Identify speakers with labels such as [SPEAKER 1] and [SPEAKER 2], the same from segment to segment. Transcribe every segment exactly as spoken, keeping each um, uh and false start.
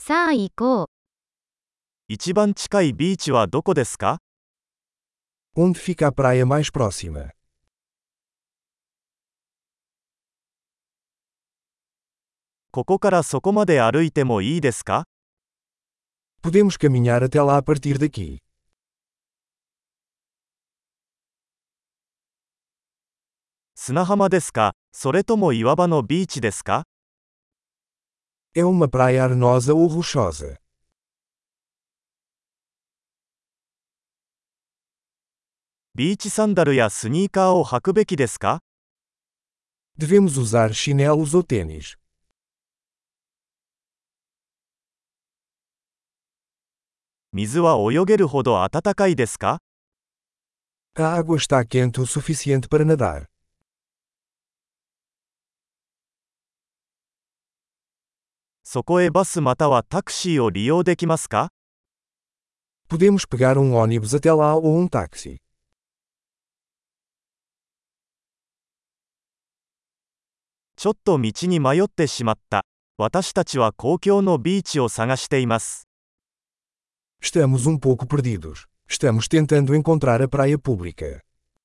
[SPEAKER 1] さあ行こう。
[SPEAKER 2] 一番近いビーチはどこですか？
[SPEAKER 3] Onde fica a praia mais próxima?
[SPEAKER 2] ここからそこまで歩いてもいいですか？
[SPEAKER 3] Podemos caminhar até lá a partir daqui.
[SPEAKER 2] 砂浜ですか？それとも岩場のビーチですか？
[SPEAKER 3] É uma praia arenosa ou rochosa?
[SPEAKER 2] ビーチサンダルやスニーカーを履くべきですか？
[SPEAKER 3] Devemos usar chinelos ou tênis?
[SPEAKER 2] 水は泳げるほど暖かいですか？
[SPEAKER 3] A água está quente o suficiente para nadar.
[SPEAKER 2] そこへバスまたはタクシーを利用できますか？
[SPEAKER 3] Podemos pegar um ônibus até lá ou um táxi.
[SPEAKER 2] ちょっと道に迷ってしまった。私たちは公共のビーチを探しています。
[SPEAKER 3] Estamos um pouco perdidos. Estamos tentando encontrar a praia pública.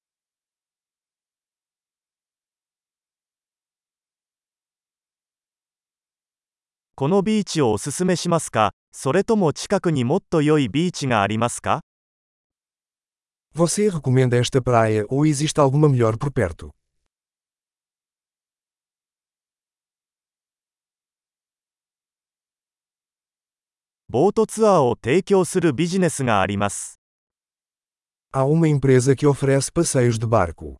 [SPEAKER 2] このビーチをおすすめしますか？それとも近くにもっと良いビーチがありますか？
[SPEAKER 3] Você recomenda esta praia ou existe alguma melhor por perto?
[SPEAKER 2] ボートツアーを提供するビジネスがあります。
[SPEAKER 3] Há uma empresa que oferece passeios de barco.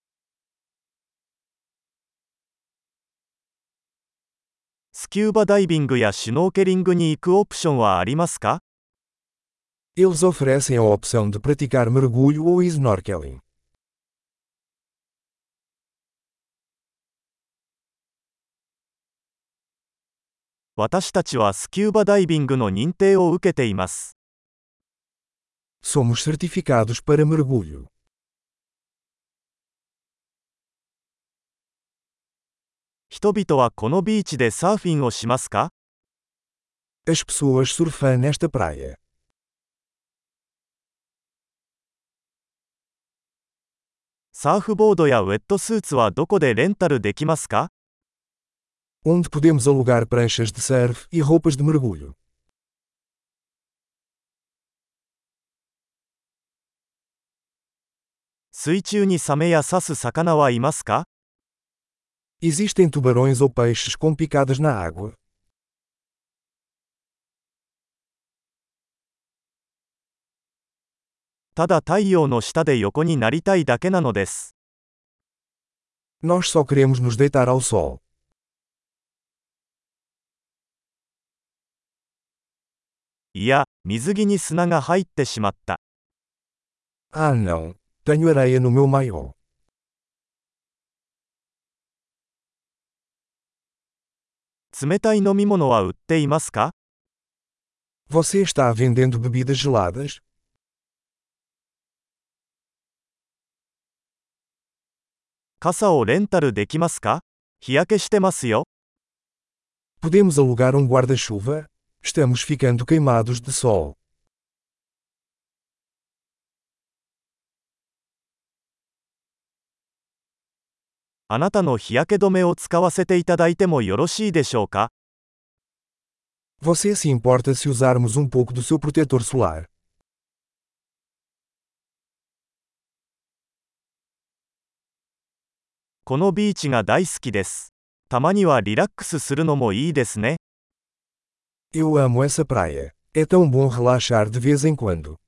[SPEAKER 2] スキューバダイビングやシュノーケリングに行くオプションはありますか？
[SPEAKER 3] Eles oferecem a opção de praticar mergulho ou snorkeling.
[SPEAKER 2] 私たちはスキューバダイビングの認定を受けています。
[SPEAKER 3] Somos certificados para mergulho.
[SPEAKER 2] 人々はこのビーチでサーフィンをしますか？
[SPEAKER 3] As pessoas surfam nesta praia.
[SPEAKER 2] サーフボードやウェットスーツはどこでレンタルできますか？
[SPEAKER 3] Onde podemos alugar pranchas de surf e roupas de mergulho.
[SPEAKER 2] 水中にサメや刺す魚はいますか？
[SPEAKER 3] Existem tubarões ou peixes com picadas na água?
[SPEAKER 2] ただ太陽の下で横になりたいだけなのです。
[SPEAKER 3] Nós só queremos nos deitar ao sol.
[SPEAKER 2] いや、水着に砂が入ってしまった。
[SPEAKER 3] Ah não, tenho areia no meu maiô.
[SPEAKER 2] 冷たい飲み物は売っていますか？
[SPEAKER 3] Você está vendendo bebidas geladas?
[SPEAKER 2] 傘をレンタルできますか？日焼けしてますよ。
[SPEAKER 3] Podemos alugar um guarda-chuva? Estamos ficando queimados de sol.
[SPEAKER 2] あなたの日焼け止めを使わせていただいてもよろしいでしょうか？
[SPEAKER 3] Você se importa se usarmos um pouco do seu protetor solar?
[SPEAKER 2] このビーチが大好きです。たまにはリラックスするのもいいですね。
[SPEAKER 3] Eu amo essa praia. É tão bom relaxar de vez em quando.